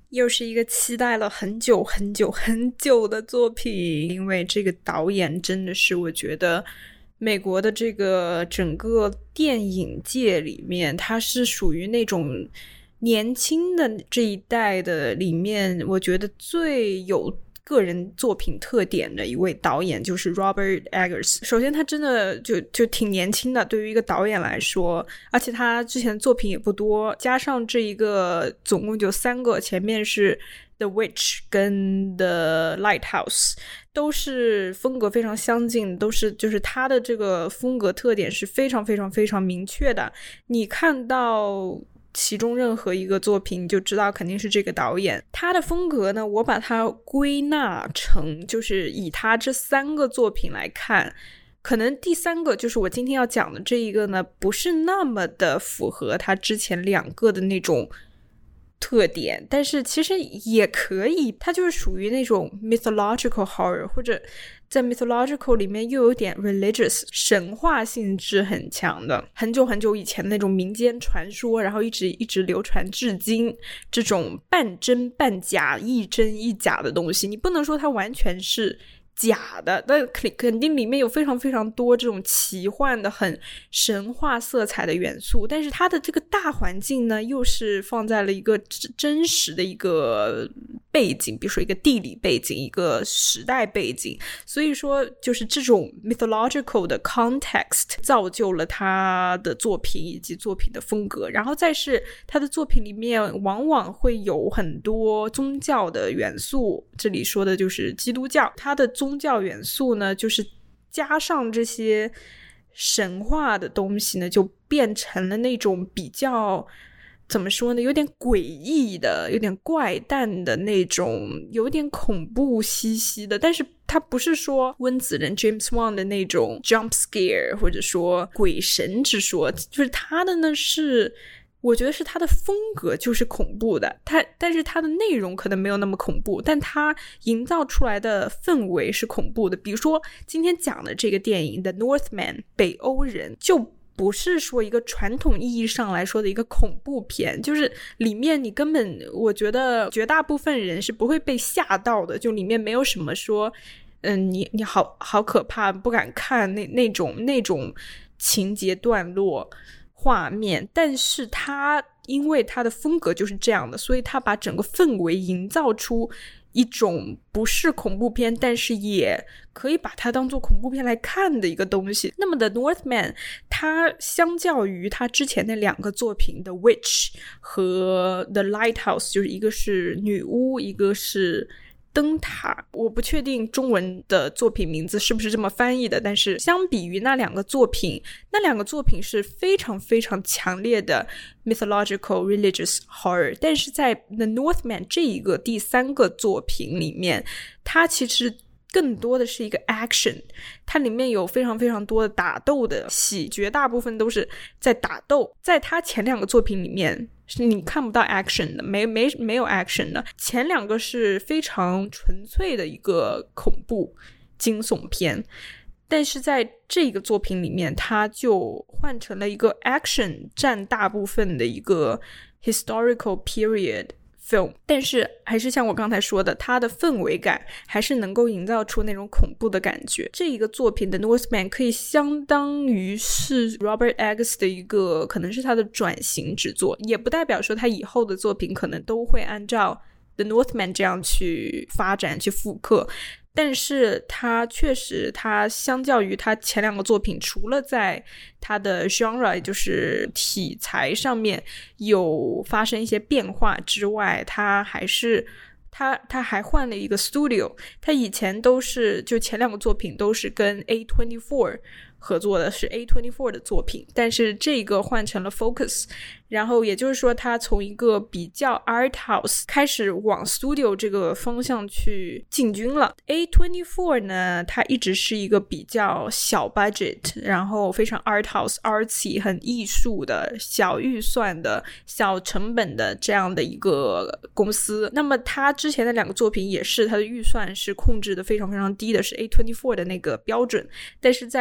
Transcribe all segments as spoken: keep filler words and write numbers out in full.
又是一个期待了很久很久很久的作品，因为这个导演真的是我觉得美国的这个整个电影界里面，他是属于那种年轻的这一代的里面，我觉得最有个人作品特点的一位导演就是 Robert Eggers。 首先他真的就就挺年轻的，对于一个导演来说，而且他之前的作品也不多，加上这一个总共就三个，前面是 The Witch 跟 The Lighthouse， 都是风格非常相近，都是就是他的这个风格特点是非常非常非常明确的，你看到其中任何一个作品你就知道肯定是这个导演。他的风格呢，我把它归纳成就是以他这三个作品来看，可能第三个就是我今天要讲的这一个呢，不是那么的符合他之前两个的那种特点，但是其实也可以，它就是属于那种 mythological horror， 或者在 mythological 里面又有点 religious 神话性质很强的，很久很久以前的那种民间传说，然后一直一直流传至今，这种半真半假一真一假的东西，你不能说它完全是假的，但肯定里面有非常非常多这种奇幻的很神话色彩的元素，但是它的这个大环境呢又是放在了一个真实的一个背景，比如说一个地理背景，一个时代背景，所以说就是这种 mythological 的 context 造就了他的作品以及作品的风格。然后再是他的作品里面往往会有很多宗教的元素，这里说的就是基督教，他的宗教元素呢就是加上这些神话的东西呢，就变成了那种比较怎么说呢，有点诡异的，有点怪诞的那种，有点恐怖兮兮的，但是它不是说温子仁 James Wan 的那种 jump scare 或者说鬼神之说，就是他的呢是我觉得是他的风格就是恐怖的，他但是他的内容可能没有那么恐怖，但他营造出来的氛围是恐怖的。比如说今天讲的这个电影 The Northman 北欧人，就不是说一个传统意义上来说的一个恐怖片，就是里面你根本我觉得绝大部分人是不会被吓到的，就里面没有什么说嗯，你你好好可怕不敢看那那种那种情节段落画面，但是他因为他的风格就是这样的，所以他把整个氛围营造出一种不是恐怖片但是也可以把它当做恐怖片来看的一个东西。那么 The Northman 它相较于他之前的两个作品 The Witch 和 The Lighthouse， 就是一个是女巫一个是灯塔，我不确定中文的作品名字是不是这么翻译的，但是相比于那两个作品，那两个作品是非常非常强烈的 mythological religious horror， 但是在 The Northman 这一个第三个作品里面，它其实更多的是一个 action， 它里面有非常非常多的打斗的戏，绝大部分都是在打斗。在它前两个作品里面是你看不到 action 的，没没没有 action 的，前两个是非常纯粹的一个恐怖惊悚片，但是在这个作品里面它就换成了一个 action 占大部分的一个 historical period film， 但是还是像我刚才说的，它的氛围感还是能够营造出那种恐怖的感觉。这一个作品的 Northman 可以相当于是 Robert Eggers 的一个可能是他的转型之作，也不代表说他以后的作品可能都会按照 The Northman 这样去发展去复刻，但是他确实他相较于他前两个作品，除了在他的 genre 也就是题材上面有发生一些变化之外，他还是他他还换了一个 studio， 他以前都是就前两个作品都是跟 A 二十四 合作的，是 A 二十四 的作品，但是这个换成了 Focus， 然后也就是说他从一个比较 art house 开始往 studio 这个方向去进军了。 A 二十四 呢，它一直是一个比较小 budget， 然后非常 art house artsy 很艺术的小预算的小成本的这样的一个公司。那么他之前的两个作品也是他的预算是控制的非常非常低的，是 A 二十四 的那个标准，但是在这个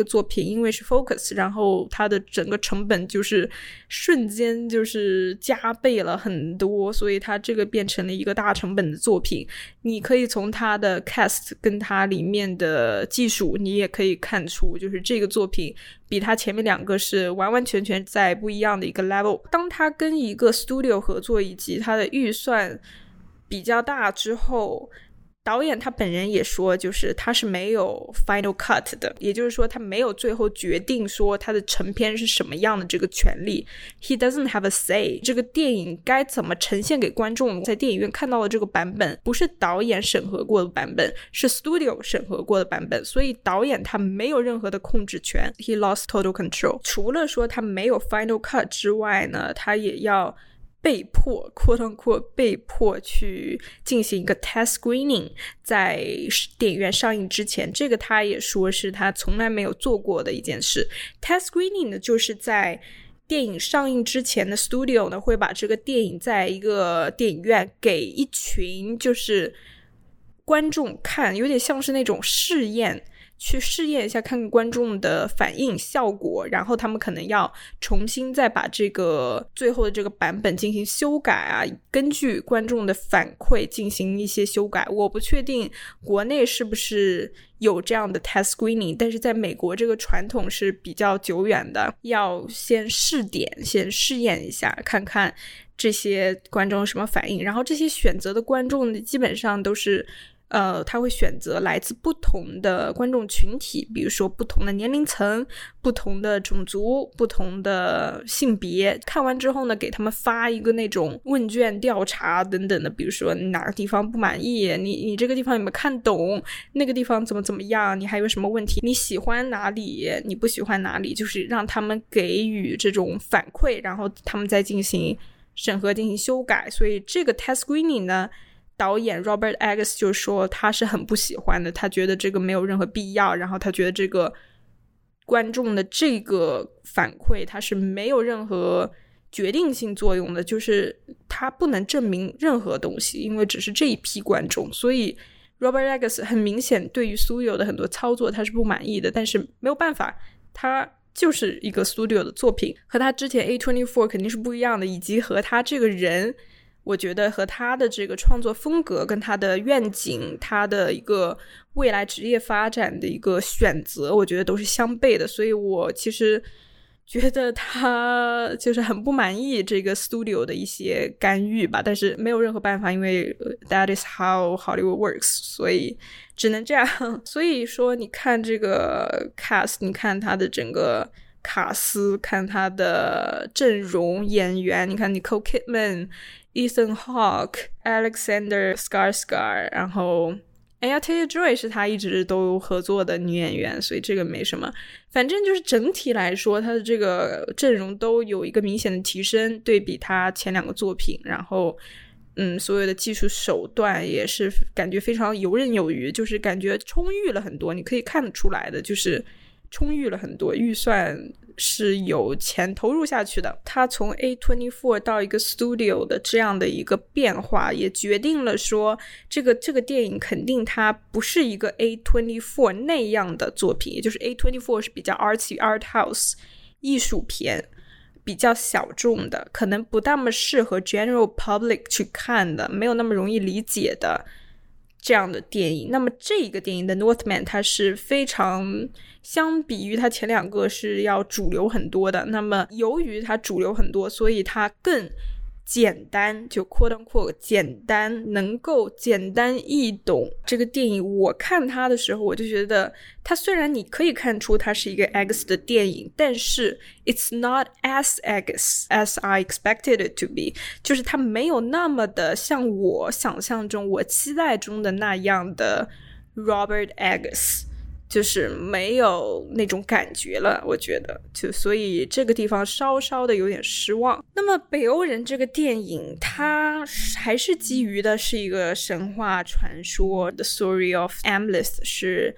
作品因为是 Focus， 然后它的整个成本就是瞬间就是加倍了很多，所以它这个变成了一个大成本的作品。你可以从它的 cast 跟它里面的技术，你也可以看出就是这个作品比它前面两个是完完全全在不一样的一个 level。 当它跟一个 studio 合作以及它的预算比较大之后，导演他本人也说就是他是没有 final cut 的，也就是说他没有最后决定说他的成片是什么样的这个权利。 He doesn't have a say， 这个电影该怎么呈现给观众，在电影院看到的这个版本不是导演审核过的版本，是 studio 审核过的版本，所以导演他没有任何的控制权。 He lost total control。 除了说他没有 final cut 之外呢，他也要被迫 quote unquote 被迫去进行一个 test screening， 在电影院上映之前，这个他也说是他从来没有做过的一件事。 test screening 呢，就是在电影上映之前的 studio 呢，会把这个电影在一个电影院给一群就是观众看，有点像是那种试验，去试验一下看看观众的反应效果，然后他们可能要重新再把这个最后的这个版本进行修改啊，根据观众的反馈进行一些修改。我不确定国内是不是有这样的 test screening， 但是在美国这个传统是比较久远的，要先试点，先试验一下看看这些观众有什么反应，然后这些选择的观众基本上都是呃，他会选择来自不同的观众群体，比如说不同的年龄层、不同的种族、不同的性别。看完之后呢，给他们发一个那种问卷调查等等的，比如说你哪个地方不满意，你你这个地方有没有看懂，那个地方怎么怎么样，你还有什么问题，你喜欢哪里，你不喜欢哪里，就是让他们给予这种反馈，然后他们再进行审核，进行修改。所以这个 test screening 呢，导演 Robert Eggers 就说他是很不喜欢的，他觉得这个没有任何必要，然后他觉得这个观众的这个反馈他是没有任何决定性作用的，就是他不能证明任何东西，因为只是这一批观众。所以 Robert Eggers 很明显对于 studio 的很多操作他是不满意的，但是没有办法，他就是一个 studio 的作品，和他之前 A 二十四 肯定是不一样的，以及和他这个人，我觉得和他的这个创作风格跟他的愿景，他的一个未来职业发展的一个选择，我觉得都是相悖的。所以我其实觉得他就是很不满意这个 studio 的一些干预吧，但是没有任何办法，因为 that is how Hollywood works， 所以只能这样。所以说你看这个 cast， 你看他的整个卡斯，看他的阵容演员，你看 Nicole Kidman、Ethan Hawke、Alexander Skarsgård， 然后Anya Taylor-Joy 是他一直都合作的女演员，所以这个没什么。反正就是整体来说，他的这个阵容都有一个明显的提升，对比他前两个作品，然后嗯，所有的技术手段也是感觉非常游刃有余，就是感觉充裕了很多，你可以看得出来的，就是充裕了很多，预算是有钱投入下去的。他从 A 二十四 到一个 studio 的这样的一个变化，也决定了说这个这个电影肯定它不是一个 A 二十四 那样的作品，也就是 A 二十四 是比较 artsy art house 艺术片，比较小众的，可能不那么适合 general public 去看的，没有那么容易理解的这样的电影。那么这一个电影的 Northman 它是非常相比于它前两个是要主流很多的，那么由于它主流很多，所以它更简单，就 quote unquote 简单，能够简单易懂。这个电影我看它的时候，我就觉得它虽然你可以看出它是一个 Eggers 的电影，但是 it's not as Eggers as I expected it to be， 就是它没有那么的像我想象中我期待中的那样的 Robert Eggers，就是没有那种感觉了，我觉得就所以这个地方稍稍的有点失望。那么北欧人这个电影它还是基于的是一个神话传说， The Story of Amleth 是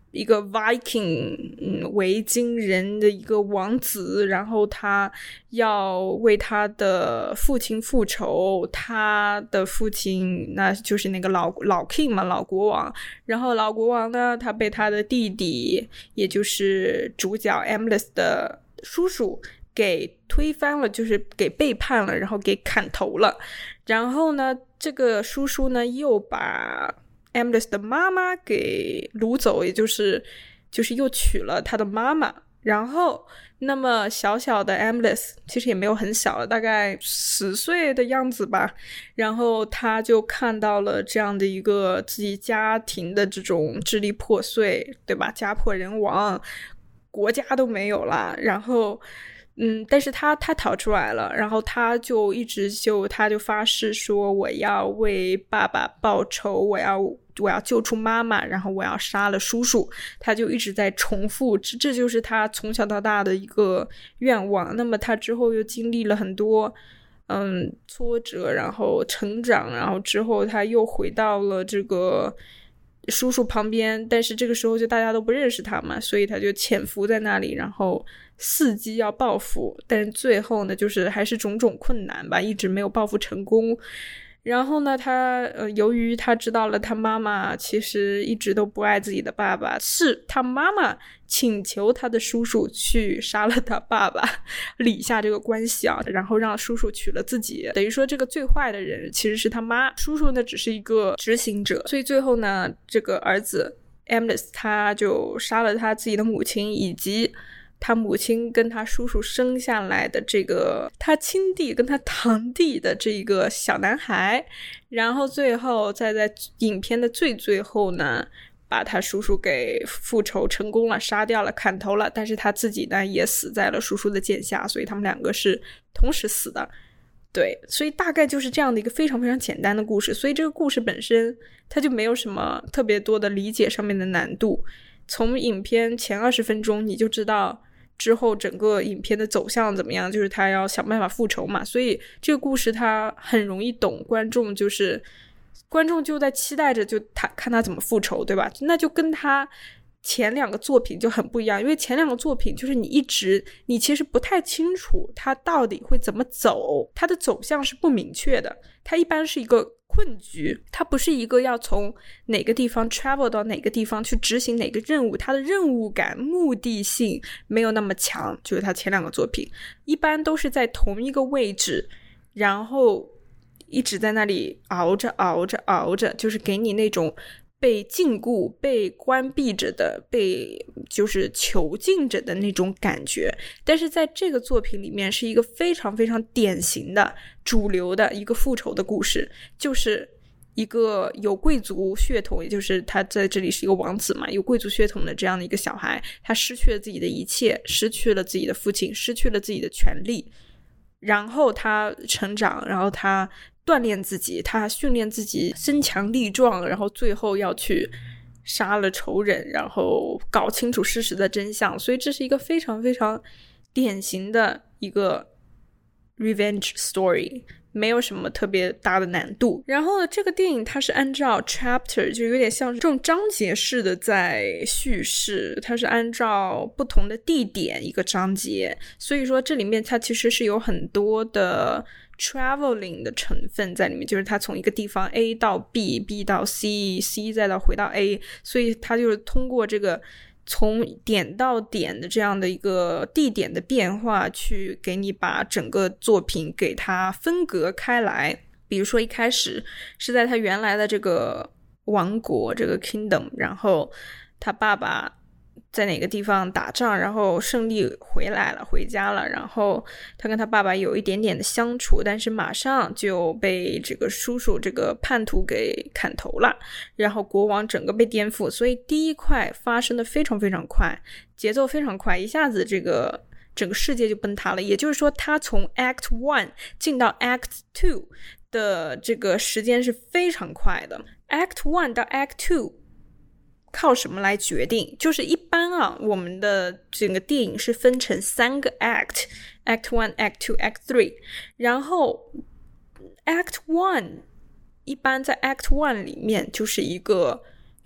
一个 Viking 嗯维京人的一个王子，然后他要为他的父亲复仇，他的父亲那就是那个老老 king 嘛，老国王，然后老国王呢，他被他的弟弟，也就是主角 Emlyn 的叔叔给推翻了，就是给背叛了，然后给砍头了。然后呢，这个叔叔呢又把Emlyn 的妈妈给掳走，也就是就是又娶了他的妈妈。然后那么小小的 Emlyn 其实也没有很小了，大概十岁的样子吧，然后他就看到了这样的一个自己家庭的这种支离破碎，对吧，家破人亡，国家都没有了，然后嗯，但是他他逃出来了，然后他就一直就他就发誓说，我要为爸爸报仇，我要我要救出妈妈，然后我要杀了叔叔，他就一直在重复，这这就是他从小到大的一个愿望。那么他之后又经历了很多嗯挫折，然后成长，然后之后他又回到了这个叔叔旁边，但是这个时候就大家都不认识他嘛，所以他就潜伏在那里，然后伺机要报复，但是最后呢就是还是种种困难吧，一直没有报复成功。然后呢他呃，由于他知道了他妈妈其实一直都不爱自己的爸爸，是他妈妈请求他的叔叔去杀了他爸爸，理下这个关系啊，然后让叔叔娶了自己，等于说这个最坏的人其实是他妈，叔叔呢只是一个执行者。所以最后呢这个儿子 Emlyn 他就杀了他自己的母亲，以及他母亲跟他叔叔生下来的这个他亲弟跟他堂弟的这个小男孩，然后最后再在影片的最最后呢把他叔叔给复仇成功了，杀掉了，砍头了，但是他自己呢也死在了叔叔的剑下，所以他们两个是同时死的。对，所以大概就是这样的一个非常非常简单的故事，所以这个故事本身它就没有什么特别多的理解上面的难度，从影片前二十分钟你就知道之后整个影片的走向怎么样，就是他要想办法复仇嘛，所以这个故事他很容易懂，观众就是观众就在期待着就他看他怎么复仇，对吧？那就跟他前两个作品就很不一样，因为前两个作品就是你一直你其实不太清楚他到底会怎么走，他的走向是不明确的，他一般是一个困局，它不是一个要从哪个地方 travel 到哪个地方去执行哪个任务，它的任务感目的性没有那么强，就是它前两个作品一般都是在同一个位置，然后一直在那里熬着熬着熬着，就是给你那种被禁锢被关闭着的被就是囚禁着的那种感觉。但是在这个作品里面是一个非常非常典型的主流的一个复仇的故事，就是一个有贵族血统，也就是他在这里是一个王子嘛，有贵族血统的这样的一个小孩，他失去了自己的一切，失去了自己的父亲，失去了自己的权利，然后他成长，然后他锻炼自己，他训练自己身强力壮，然后最后要去杀了仇人，然后搞清楚事实的真相。所以这是一个非常非常典型的一个 revenge story， 没有什么特别大的难度。然后这个电影它是按照 chapter， 就有点像这种章节式的在叙事，它是按照不同的地点一个章节，所以说这里面它其实是有很多的traveling 的成分在里面，就是他从一个地方 A 到 B， B 到 C， C 再到回到 A， 所以他就是通过这个从点到点的这样的一个地点的变化去给你把整个作品给它分隔开来。比如说一开始是在他原来的这个王国这个 kingdom， 然后他爸爸在哪个地方打仗，然后胜利回来了回家了，然后他跟他爸爸有一点点的相处，但是马上就被这个叔叔这个叛徒给砍头了，然后国王整个被颠覆，所以第一块发生的非常非常快，节奏非常快，一下子这个整个世界就崩塌了。也就是说他从 Act one 进到 Act two 的这个时间是非常快的。 Act one 到 Act two靠什么来决定？就是一般啊，我们的整个电影是分成三个 act， act one act two act three， 然后 act one 一般在 act one 里面就是一个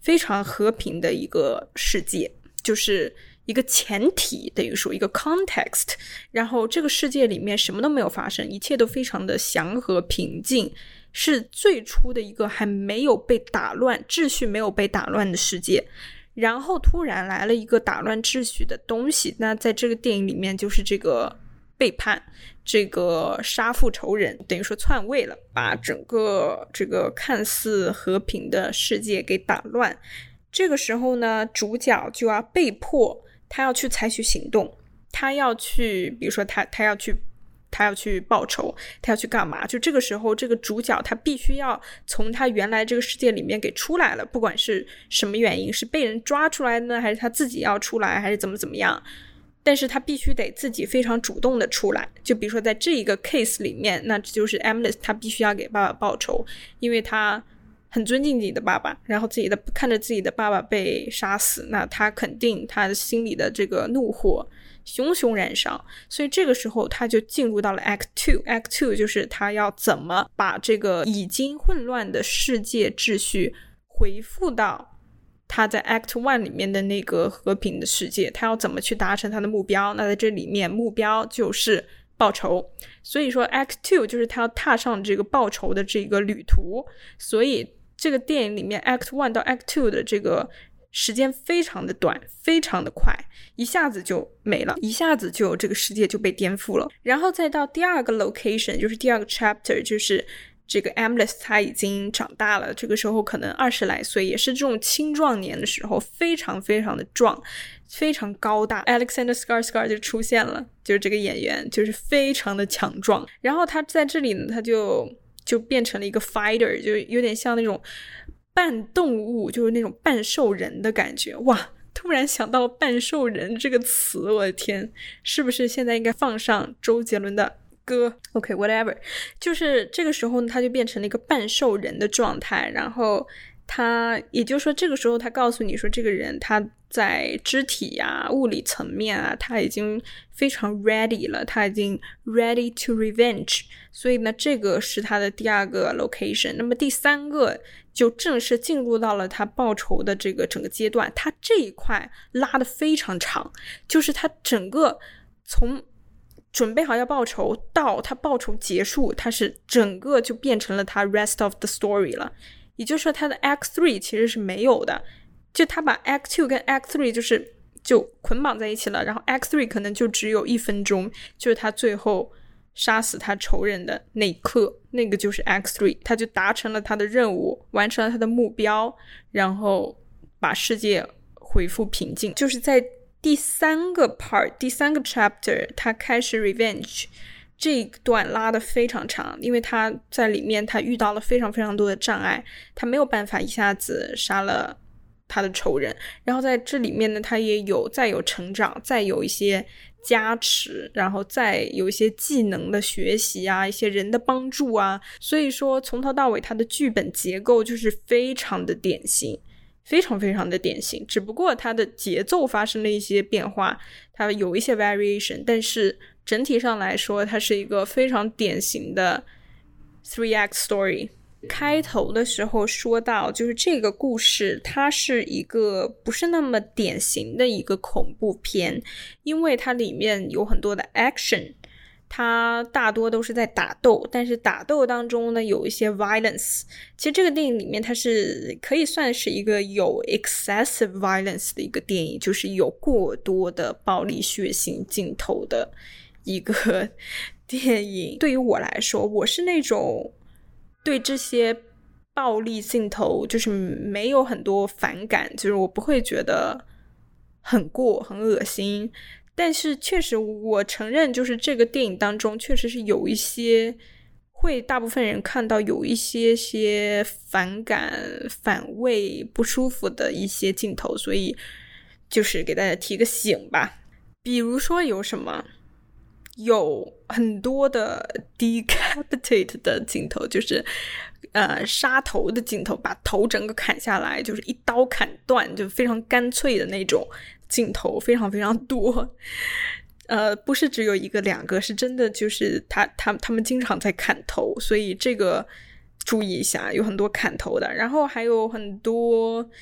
非常和平的一个世界，就是一个前提，等于说一个 context， 然后这个世界里面什么都没有发生，一切都非常的祥和平静，是最初的一个还没有被打乱，秩序没有被打乱的世界。然后突然来了一个打乱秩序的东西，那在这个电影里面就是这个背叛，这个杀父仇人，等于说篡位了，把整个这个看似和平的世界给打乱。这个时候呢，主角就要被迫他要去采取行动，他要去比如说他他要去他要去报仇，他要去干嘛，就这个时候这个主角他必须要从他原来这个世界里面给出来了，不管是什么原因，是被人抓出来呢，还是他自己要出来，还是怎么怎么样，但是他必须得自己非常主动的出来。就比如说在这一个 case 里面，那就是 Emlist 他必须要给爸爸报仇，因为他很尊敬自己的爸爸，然后自己的看着自己的爸爸被杀死，那他肯定他的心里的这个怒火熊熊燃烧，所以这个时候他就进入到了 Act 二 Act 二就是他要怎么把这个已经混乱的世界秩序回复到他在 Act 一里面的那个和平的世界，他要怎么去达成他的目标。那在这里面目标就是报仇，所以说 Act 二就是他要踏上这个报仇的这个旅途。所以这个电影里面 Act 一到 Act 二的这个时间非常的短，非常的快，一下子就没了，一下子就这个世界就被颠覆了。然后再到第二个 location， 就是第二个 chapter， 就是这个 Emlist 他已经长大了，这个时候可能二十来岁，也是这种青壮年的时候，非常非常的壮，非常高大。 Alexander Skarsgård 就出现了，就是这个演员就是非常的强壮。然后他在这里呢，他就就变成了一个 fighter， 就有点像那种半动物，就是那种半兽人的感觉。哇，突然想到半兽人这个词，我的天，是不是现在应该放上周杰伦的歌 OK whatever。 就是这个时候呢，他就变成了一个半兽人的状态。然后他也就是说这个时候他告诉你说，这个人他在肢体啊物理层面啊他已经非常 ready 了，他已经 ready to revenge。 所以呢这个是他的第二个 location。 那么第三个就正式进入到了他报仇的这个整个阶段。他这一块拉得非常长，就是他整个从准备好要报仇到他报仇结束，他是整个就变成了他 rest of the story 了。也就是说他的 Act 三其实是没有的，就他把 Act 二跟 Act 三就是就捆绑在一起了，然后 Act 三可能就只有一分钟，就是他最后杀死他仇人的那一刻，那个就是 Act 三，他就达成了他的任务，完成了他的目标，然后把世界恢复平静。就是在第三个 part 第三个 chapter 他开始 revenge， 这一段拉得非常长，因为他在里面他遇到了非常非常多的障碍，他没有办法一下子杀了他的仇人。然后在这里面呢，他也有再有成长，再有一些加持，然后再有一些技能的学习啊，一些人的帮助啊。所以说从头到尾他的剧本结构就是非常的典型，非常非常的典型，只不过它的节奏发生了一些变化，它有一些 variation， 但是整体上来说它是一个非常典型的 three act story。 开头的时候说到，就是这个故事它是一个不是那么典型的一个恐怖片，因为它里面有很多的 action，它大多都是在打斗，但是打斗当中呢有一些 violence。 其实这个电影里面它是可以算是一个有 excessive violence 的一个电影，就是有过多的暴力血腥镜头的一个电影。对于我来说，我是那种对这些暴力镜头就是没有很多反感，就是我不会觉得很过很恶心，但是确实我承认就是这个电影当中确实是有一些会大部分人看到有一些些反感反胃不舒服的一些镜头，所以就是给大家提个醒吧。比如说有什么，有很多的 decapitate 的镜头，就是呃杀头的镜头，把头整个砍下来，就是一刀砍断，就非常干脆的那种镜头非常非常多。呃，不是只有一个两个，是真的就是他他他们经常在砍头，所以这个注意一下，有很多砍头的。然后还有很多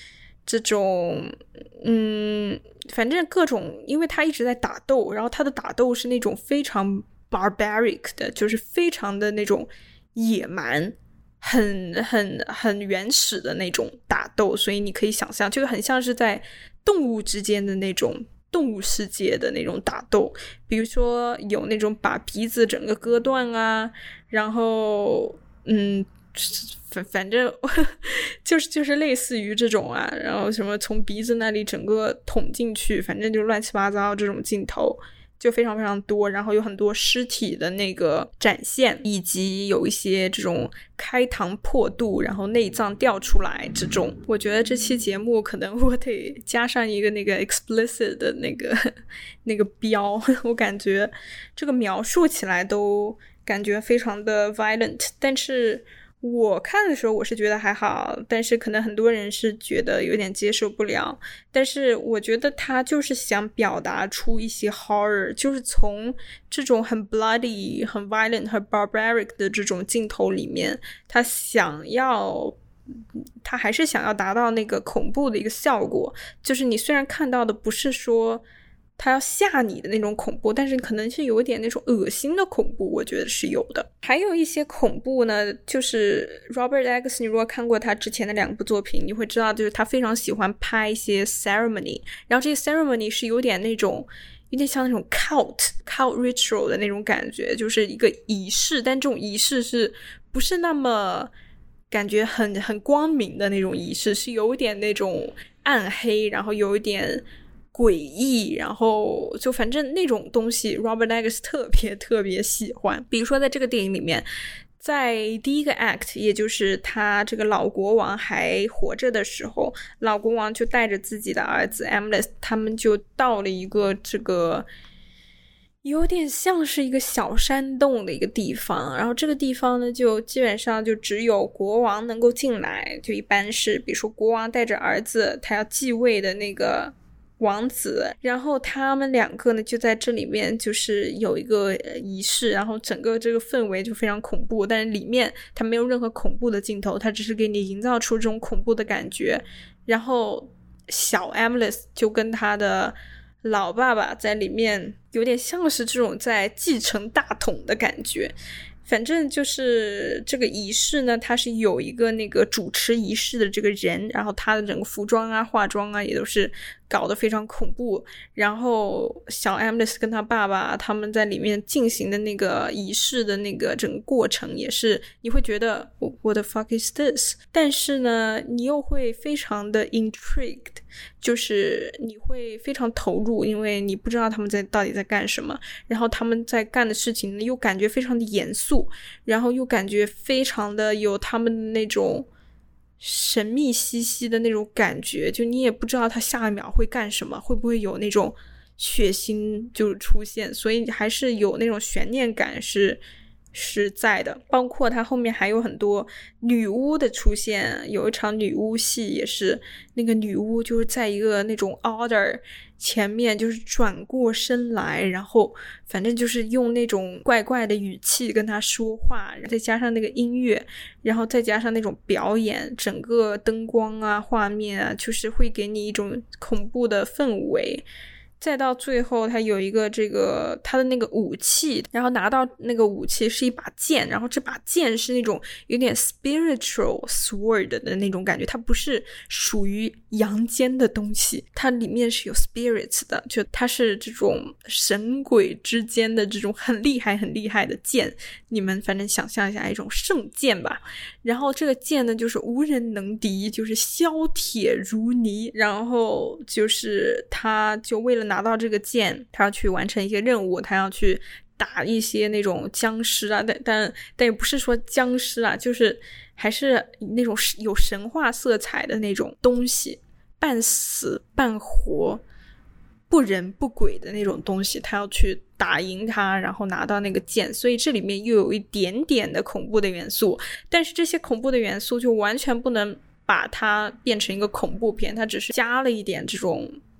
这种嗯，反正各种，因为他一直在打斗，然后他的打斗是那种非常 barbaric 的，就是非常的那种野蛮，很很很原始的那种打斗，所以你可以想象，就很像是在动物之间的那种动物世界的那种打斗，比如说有那种把鼻子整个割断啊，然后嗯。反反正就是就是类似于这种啊，然后什么从鼻子那里整个捅进去，反正就乱七八糟这种镜头就非常非常多，然后有很多尸体的那个展现，以及有一些这种开膛破肚，然后内脏掉出来这种。我觉得这期节目可能我得加上一个那个 explicit 的那个那个标，我感觉这个描述起来都感觉非常的 violent， 但是我看的时候我是觉得还好，但是可能很多人是觉得有点接受不了，但是我觉得他就是想表达出一些 horror， 就是从这种很 bloody 很 violent 很 barbaric 的这种镜头里面，他想要他还是想要达到那个恐怖的一个效果，就是你虽然看到的不是说他要吓你的那种恐怖，但是可能是有一点那种恶心的恐怖，我觉得是有的。还有一些恐怖呢，就是 Robert Eggers， 你如果看过他之前的两部作品，你会知道就是他非常喜欢拍一些 ceremony， 然后这些 ceremony 是有点那种有点像那种 cult cult ritual 的那种感觉，就是一个仪式，但这种仪式是不是那么感觉很很光明的那种仪式，是有一点那种暗黑，然后有一点诡异，然后就反正那种东西 Robert Eggers 特别特别喜欢。比如说在这个电影里面，在第一个 act， 也就是他这个老国王还活着的时候，老国王就带着自己的儿子 Emlyn， 他们就到了一个这个有点像是一个小山洞的一个地方，然后这个地方呢就基本上就只有国王能够进来，就一般是比如说国王带着儿子他要继位的那个王子，然后他们两个呢就在这里面就是有一个仪式，然后整个这个氛围就非常恐怖，但是里面它没有任何恐怖的镜头，它只是给你营造出这种恐怖的感觉。然后小 Emlyn 就跟他的老爸爸在里面有点像是这种在继承大统的感觉。反正就是这个仪式呢，它是有一个那个主持仪式的这个人，然后他的整个服装啊化妆啊也都是搞得非常恐怖，然后小 Emlyn 跟他爸爸他们在里面进行的那个仪式的那个整个过程也是你会觉得 What the fuck is this， 但是呢你又会非常的 intrigued， 就是你会非常投入，因为你不知道他们在到底在干什么，然后他们在干的事情呢又感觉非常的严肃，然后又感觉非常的有他们的那种神秘兮兮的那种感觉，就你也不知道他下一秒会干什么，会不会有那种血腥就出现，所以还是有那种悬念感是是在的。包括他后面还有很多女巫的出现，有一场女巫戏也是那个女巫就是在一个那种 order 前面就是转过身来，然后反正就是用那种怪怪的语气跟他说话，再加上那个音乐，然后再加上那种表演，整个灯光啊画面啊就是会给你一种恐怖的氛围。再到最后他有一个这个他的那个武器，然后拿到那个武器是一把剑，然后这把剑是那种有点 spiritual sword 的那种感觉，它不是属于阳间的东西，它里面是有 spirits 的，就它是这种神鬼之间的这种很厉害很厉害的剑，你们反正想象一下一种圣剑吧。然后这个剑呢就是无人能敌，就是削铁如泥，然后就是他就为了拿到这个剑，他要去完成一些任务，他要去打一些那种僵尸啊，但但但也不是说僵尸啊，就是还是那种有神话色彩的那种东西，半死半活不人不鬼的那种东西，他要去打赢他，然后拿到那个剑，所以这里面又有一点点的恐怖的元素，但是这些恐怖的元素就完全不能把它变成一个恐怖片，它只是加了一点这种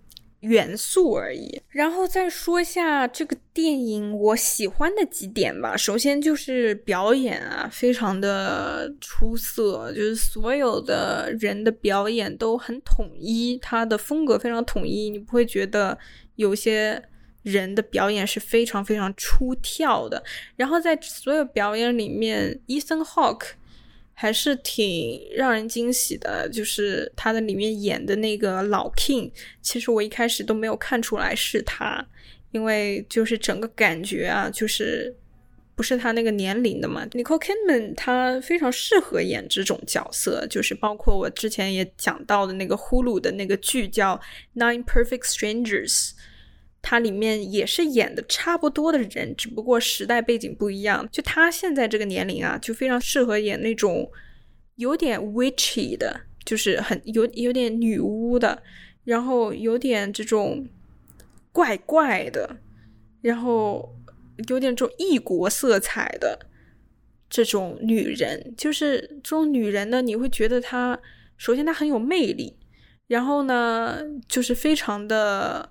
元素而已。然后再说一下这个电影我喜欢的几点吧。首先就是表演啊，非常的出色，就是所有的人的表演都很统一，他的风格非常统一，你不会觉得有些人的表演是非常非常出挑的。然后在所有表演里面 Ethan Hawke还是挺让人惊喜的，就是他的里面演的那个老 King， 其实我一开始都没有看出来是他，因为就是整个感觉啊，就是不是他那个年龄的嘛。Nicole Kidman 她非常适合演这种角色，就是包括我之前也讲到的那个 Hulu 的那个剧叫 Nine Perfect Strangers，他里面也是演的差不多的人，只不过时代背景不一样。就他现在这个年龄啊，就非常适合演那种有点 witchy 的，就是很有有点女巫的，然后有点这种怪怪的，然后有点这种异国色彩的这种女人。就是这种女人呢，你会觉得她首先她很有魅力，然后呢就是非常的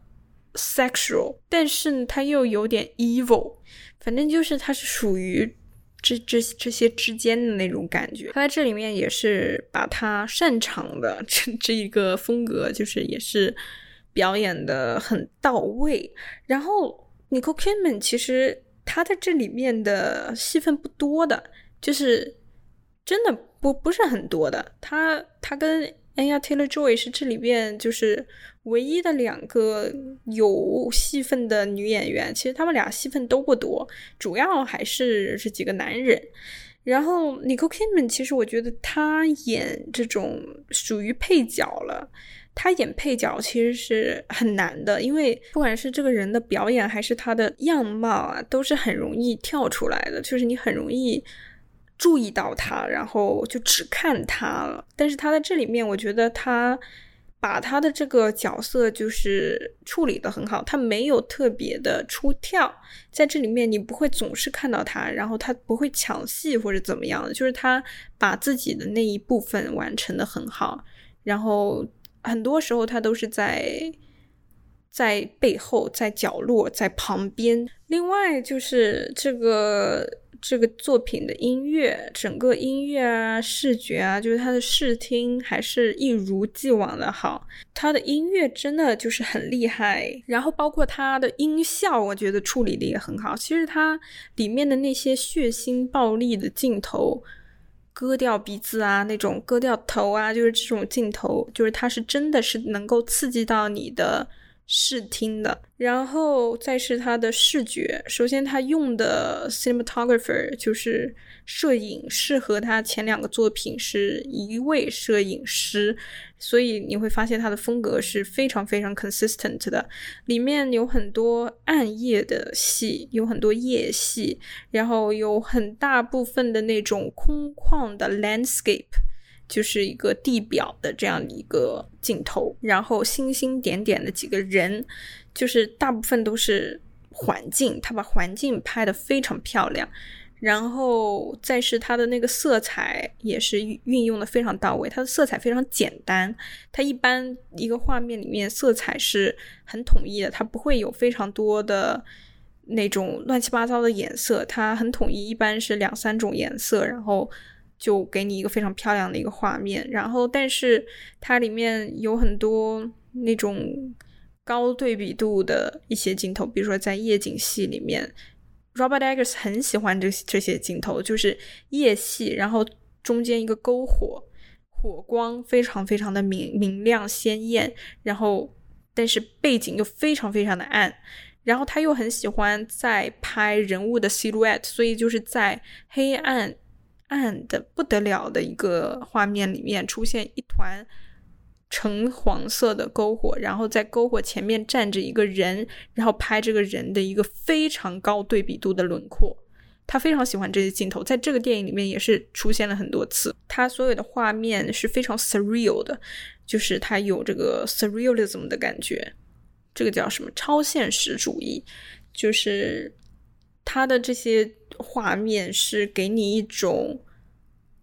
sexual， 但是他又有点 evil， 反正就是他是属于这这这些之间的那种感觉。他在这里面也是把他擅长的这这一个风格，就是也是表演的很到位。然后 Nicole Kidman 其实他在这里面的戏份不多的，就是真的不不是很多的。他他跟Anya Taylor-Joy 是这里边就是唯一的两个有戏份的女演员，其实他们俩戏份都不多，主要还是这几个男人。然后 Nicole Kidman 其实我觉得她演这种属于配角了，她演配角其实是很难的，因为不管是这个人的表演还是他的样貌啊，都是很容易跳出来的，就是你很容易注意到他，然后就只看他了。但是他在这里面我觉得他把他的这个角色就是处理得很好，他没有特别的出跳，在这里面你不会总是看到他，然后他不会抢戏或者怎么样的，就是他把自己的那一部分完成得很好，然后很多时候他都是在在背后，在角落，在旁边。另外就是这个这个作品的音乐，整个音乐啊视觉啊，就是它的视听还是一如既往的好，它的音乐真的就是很厉害。然后包括它的音效我觉得处理的也很好，其实它里面的那些血腥暴力的镜头，割掉鼻子啊，那种割掉头啊，就是这种镜头，就是它是真的是能够刺激到你的视听的。然后再是它的视觉，首先他用的 cinematographer 就是摄影师，和他前两个作品是一位摄影师，所以你会发现他的风格是非常非常 consistent 的。里面有很多暗夜的戏，有很多夜戏，然后有很大部分的那种空旷的 landscape，就是一个地表的这样的一个镜头，然后星星点点的几个人，就是大部分都是环境，他把环境拍得非常漂亮。然后再是它的那个色彩也是运用的非常到位，它的色彩非常简单，它一般一个画面里面色彩是很统一的，它不会有非常多的那种乱七八糟的颜色，它很统一，一般是两三种颜色，然后就给你一个非常漂亮的一个画面。然后但是它里面有很多那种高对比度的一些镜头，比如说在夜景戏里面Robert Eggers 很喜欢这这些镜头，就是夜戏，然后中间一个篝火，火光非常非常的明明亮鲜艳，然后但是背景又非常非常的暗，然后他又很喜欢在拍人物的 silhouette， 所以就是在黑暗暗的不得了的一个画面里面出现一团橙黄色的篝火，然后在篝火前面站着一个人，然后拍这个人的一个非常高对比度的轮廓。他非常喜欢这些镜头，在这个电影里面也是出现了很多次。他所有的画面是非常 surreal 的，就是他有这个 surrealism 的感觉，这个叫什么超现实主义，就是他的这些画面是给你一种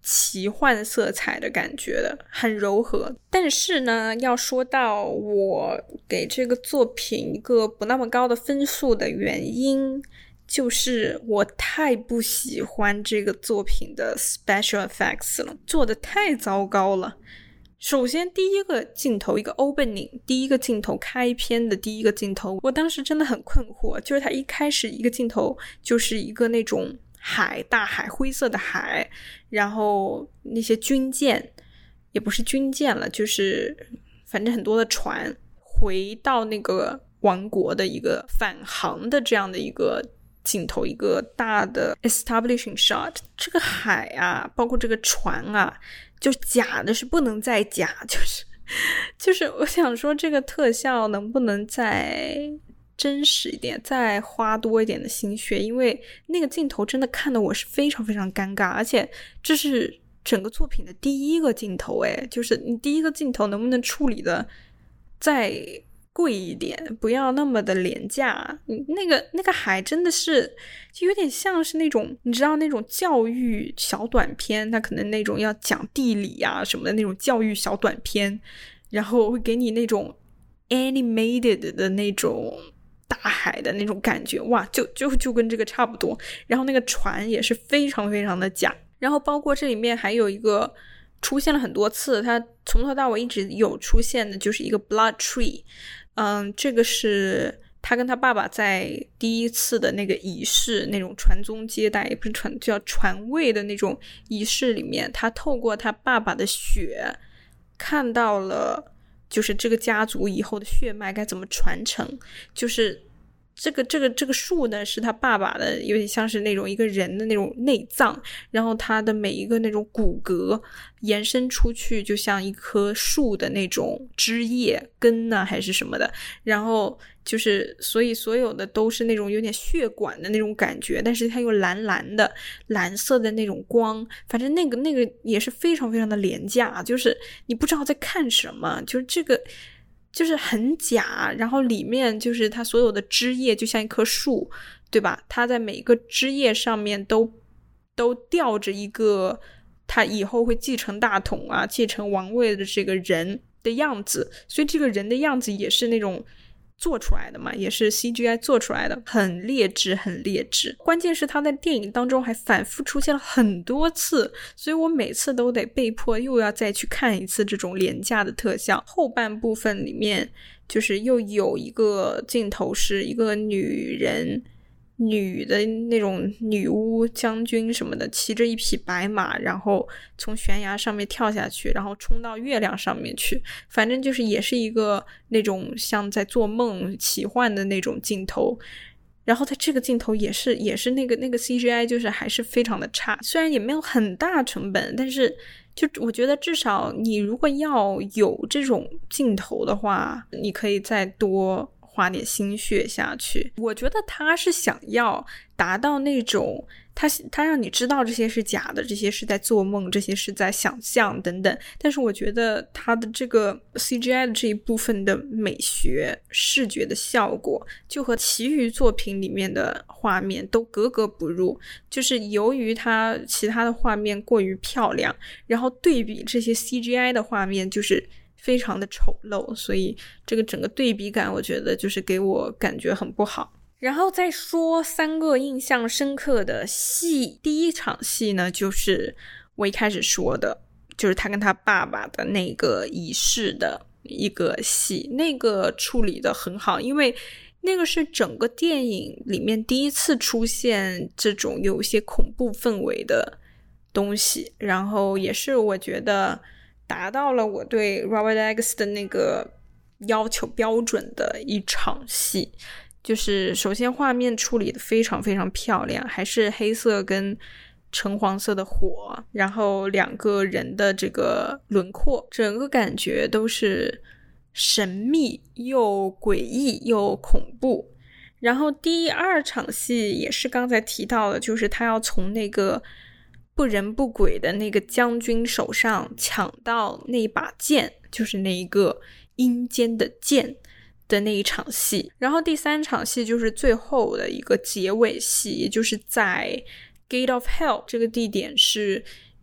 奇幻色彩的感觉的，很柔和。但是呢，要说到我给这个作品一个不那么高的分数的原因，就是我太不喜欢这个作品的 special effects 了，做的太糟糕了。首先第一个镜头，一个 opening， 第一个镜头，开篇的第一个镜头，我当时真的很困惑，就是它一开始一个镜头就是一个那种海，大海，灰色的海，然后那些军舰，也不是军舰了，就是反正很多的船回到那个王国的一个返航的这样的一个镜头，一个大的 establishing shot。 这个海啊，包括这个船啊，就假的是不能再假，就是就是我想说这个特效能不能再真实一点，再花多一点的心血，因为那个镜头真的看得我是非常非常尴尬，而且这是整个作品的第一个镜头，诶，就是你第一个镜头能不能处理的再贵一点，不要那么的廉价。那个那个海真的是就有点像是那种你知道那种教育小短片，它可能那种要讲地理啊什么的那种教育小短片，然后会给你那种 animated 的那种大海的那种感觉，哇，就就就跟这个差不多。然后那个船也是非常非常的假，然后包括这里面还有一个出现了很多次，它从头到尾一直有出现的就是一个 blood tree。 嗯，这个是他跟他爸爸在第一次的那个仪式，那种传宗接代，也不是传，叫传位的那种仪式里面，他透过他爸爸的血看到了就是这个家族以后的血脉该怎么传承。就是这个这个这个树呢是他爸爸的，有点像是那种一个人的那种内脏，然后他的每一个那种骨骼延伸出去，就像一棵树的那种枝叶根啊还是什么的，然后就是所以所有的都是那种有点血管的那种感觉，但是它又蓝蓝的蓝色的那种光，反正那个那个也是非常非常的廉价，就是你不知道在看什么，就是这个就是很假，然后里面就是它所有的枝叶就像一棵树，对吧？它在每个枝叶上面都都吊着一个他以后会继承大统啊继承王位的这个人的样子，所以这个人的样子也是那种做出来的嘛，也是 C G I 做出来的，很劣质很劣质。关键是他在电影当中还反复出现了很多次，所以我每次都得被迫又要再去看一次这种廉价的特效。后半部分里面就是又有一个镜头是一个女人女的那种女巫将军什么的，骑着一匹白马，然后从悬崖上面跳下去，然后冲到月亮上面去，反正就是也是一个那种像在做梦奇幻的那种镜头。然后它这个镜头也是也是那个那个 C G I 就是还是非常的差，虽然也没有很大成本，但是就我觉得至少你如果要有这种镜头的话，你可以再多花点心血下去。我觉得他是想要达到那种他他让你知道这些是假的，这些是在做梦，这些是在想象等等，但是我觉得他的这个 C G I 的这一部分的美学视觉的效果就和其余作品里面的画面都格格不入，就是由于他其他的画面过于漂亮，然后对比这些 C G I 的画面就是非常的丑陋，所以这个整个对比感我觉得就是给我感觉很不好。然后再说三个印象深刻的戏，第一场戏呢就是我一开始说的，就是他跟他爸爸的那个仪式的一个戏，那个处理的很好，因为那个是整个电影里面第一次出现这种有一些恐怖氛围的东西，然后也是我觉得达到了我对 Robert Eggers 的那个要求标准的一场戏。就是首先画面处理的非常非常漂亮，还是黑色跟橙黄色的火，然后两个人的这个轮廓，整个感觉都是神秘又诡异又恐怖。然后第二场戏也是刚才提到的，就是他要从那个不人不鬼的那个将军手上抢到那一把剑，就是那一个阴间的剑的那一场戏。然后第三场戏就是最后的一个结尾戏，也就是在 Gate of Hell 这个地点是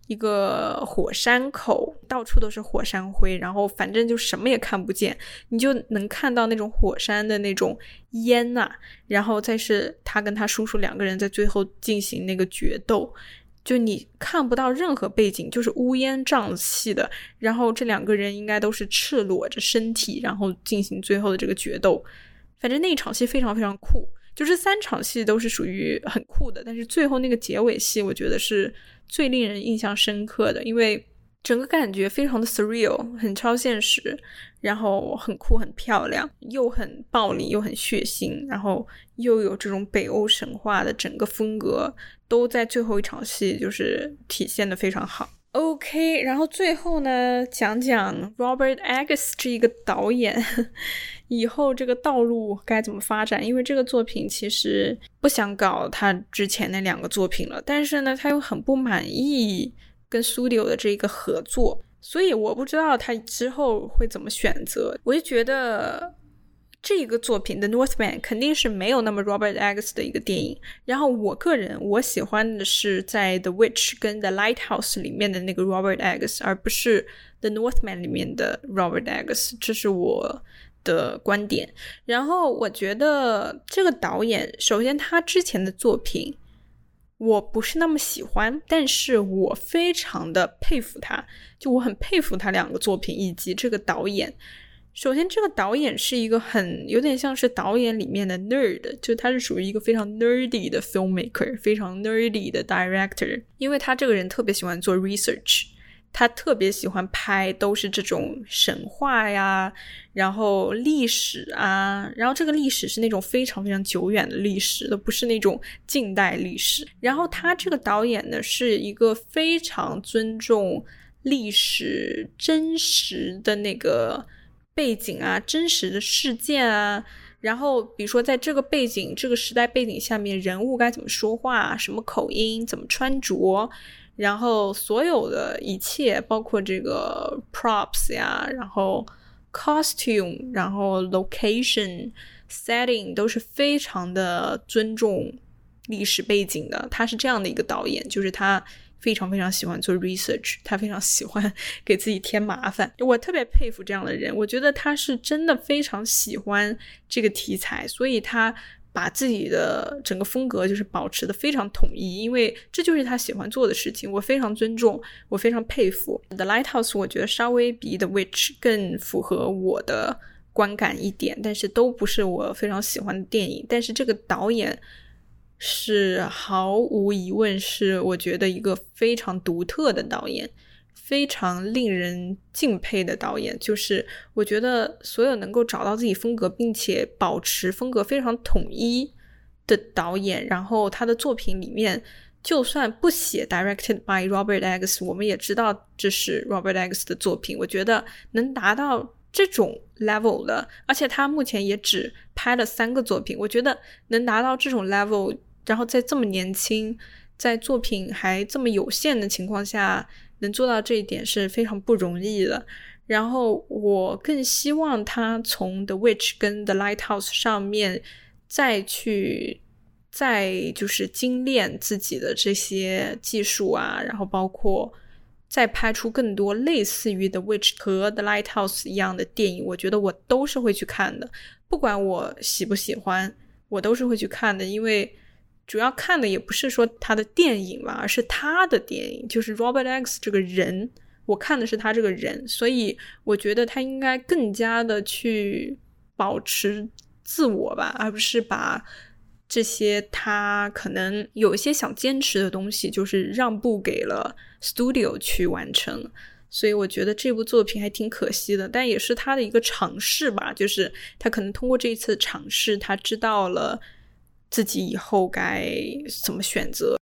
一个火山口，到处都是火山灰，然后反正就什么也看不见，你就能看到那种火山的那种烟啊，然后再是他跟他叔叔两个人在最后进行那个决斗，就你看不到任何背景，就是乌烟瘴气的，然后这两个人应该都是赤裸着身体，然后进行最后的这个决斗。反正那一场戏非常非常酷，就这三场戏都是属于很酷的，但是最后那个结尾戏我觉得是最令人印象深刻的，因为整个感觉非常的 surreal， 很超现实，然后很酷很漂亮，又很暴力又很血腥，然后又有这种北欧神话的整个风格都在最后一场戏就是体现得非常好。OK， 然后最后呢，讲讲 Robert Eggers 这一个导演以后这个道路该怎么发展，因为这个作品其实不想搞他之前那两个作品了，但是呢他又很不满意跟 Studio 的这个合作，所以我不知道他之后会怎么选择。我就觉得这个作品的 Northman 肯定是没有那么 Robert Eggers 的一个电影，然后我个人我喜欢的是在 The Witch 跟 The Lighthouse 里面的那个 Robert Eggers， 而不是 The Northman 里面的 Robert Eggers， 这是我的观点。然后我觉得这个导演首先他之前的作品我不是那么喜欢，但是我非常的佩服他，就我很佩服他两个作品以及这个导演。首先这个导演是一个很有点像是导演里面的 nerd， 就他是属于一个非常 nerdy 的 filmmaker， 非常 nerdy 的 director， 因为他这个人特别喜欢做 research， 他特别喜欢拍都是这种神话呀，然后历史啊，然后这个历史是那种非常非常久远的历史，都不是那种近代历史。然后他这个导演呢是一个非常尊重历史真实的那个背景啊，真实的事件啊，然后比如说在这个背景这个时代背景下面人物该怎么说话，什么口音，怎么穿着，然后所有的一切包括这个 props 呀，然后 costume， 然后 location setting 都是非常的尊重历史背景的。他是这样的一个导演，就是他非常非常喜欢做 research， 他非常喜欢给自己添麻烦，我特别佩服这样的人，我觉得他是真的非常喜欢这个题材，所以他把自己的整个风格就是保持的非常统一，因为这就是他喜欢做的事情，我非常尊重，我非常佩服。 The Lighthouse 我觉得稍微比 The Witch 更符合我的观感一点，但是都不是我非常喜欢的电影，但是这个导演是毫无疑问是我觉得一个非常独特的导演，非常令人敬佩的导演，就是我觉得所有能够找到自己风格并且保持风格非常统一的导演，然后他的作品里面就算不写 directed by Robert Eggers 我们也知道这是 Robert Eggers 的作品，我觉得能达到这种 level 的，而且他目前也只拍了三个作品，我觉得能达到这种 level， 然后在这么年轻，在作品还这么有限的情况下能做到这一点是非常不容易的。然后我更希望他从 The Witch 跟 The Lighthouse 上面再去再就是精炼自己的这些技术啊，然后包括再拍出更多类似于 The Witch 和 The Lighthouse 一样的电影，我觉得我都是会去看的，不管我喜不喜欢我都是会去看的，因为主要看的也不是说他的电影嘛，而是他的电影，就是 Robert Eggers 这个人，我看的是他这个人，所以我觉得他应该更加的去保持自我吧，而不是把这些他可能有一些想坚持的东西就是让步给了 Studio 去完成，所以我觉得这部作品还挺可惜的，但也是他的一个尝试吧，就是他可能通过这一次尝试他知道了自己以后该怎么选择。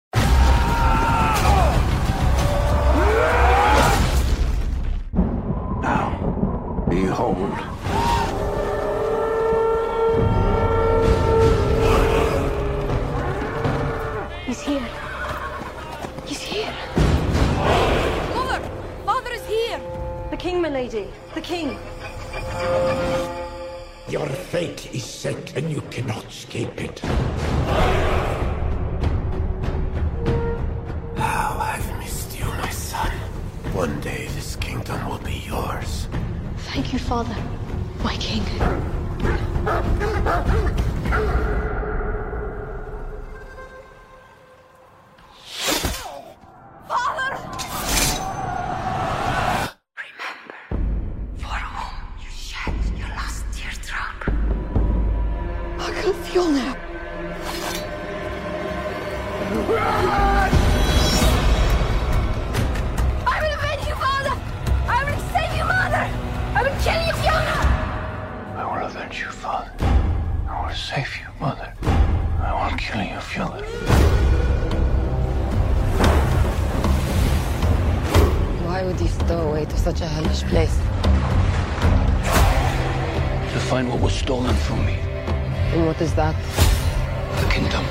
Now, behold. He's here. He's here. Mother! Father is here! The king, my lady. The king. Your fate is set and you cannot escape it. How I've missed you, my son. son will be yours. Thank you, Father, my king. Father! Remember for whom you shed your last teardrop. I can feel now. I will avenge you, Father! I will save you, Mother! I will kill you, Fiona! I will avenge you, Father. I will save you, Mother. I will kill you, Fiona. Why would you stow away to such a hellish place? To find what was stolen from me. And what is that? The kingdom.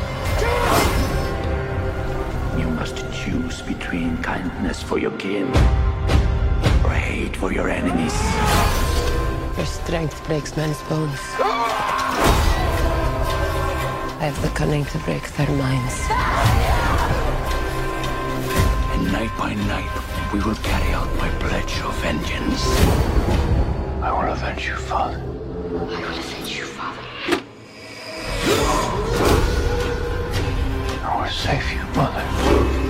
You must choose between kindness for your kin or hate for your enemies. Your strength breaks men's bones. I have the cunning to break their minds. And night by night, we will carry out my pledge of vengeance. I will avenge you, Father. I will avenge you, Father. I will save you, Mother.